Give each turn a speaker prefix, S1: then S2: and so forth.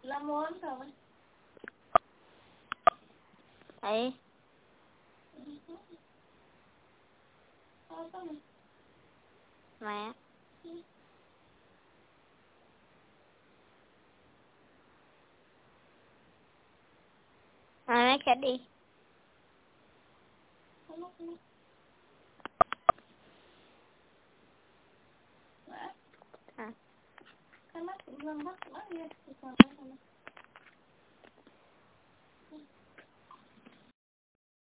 S1: Là muốn rồi.
S2: Đấy. Mẹ. Nó chết đi.
S1: Cái mắt cũng lưng mắt gì,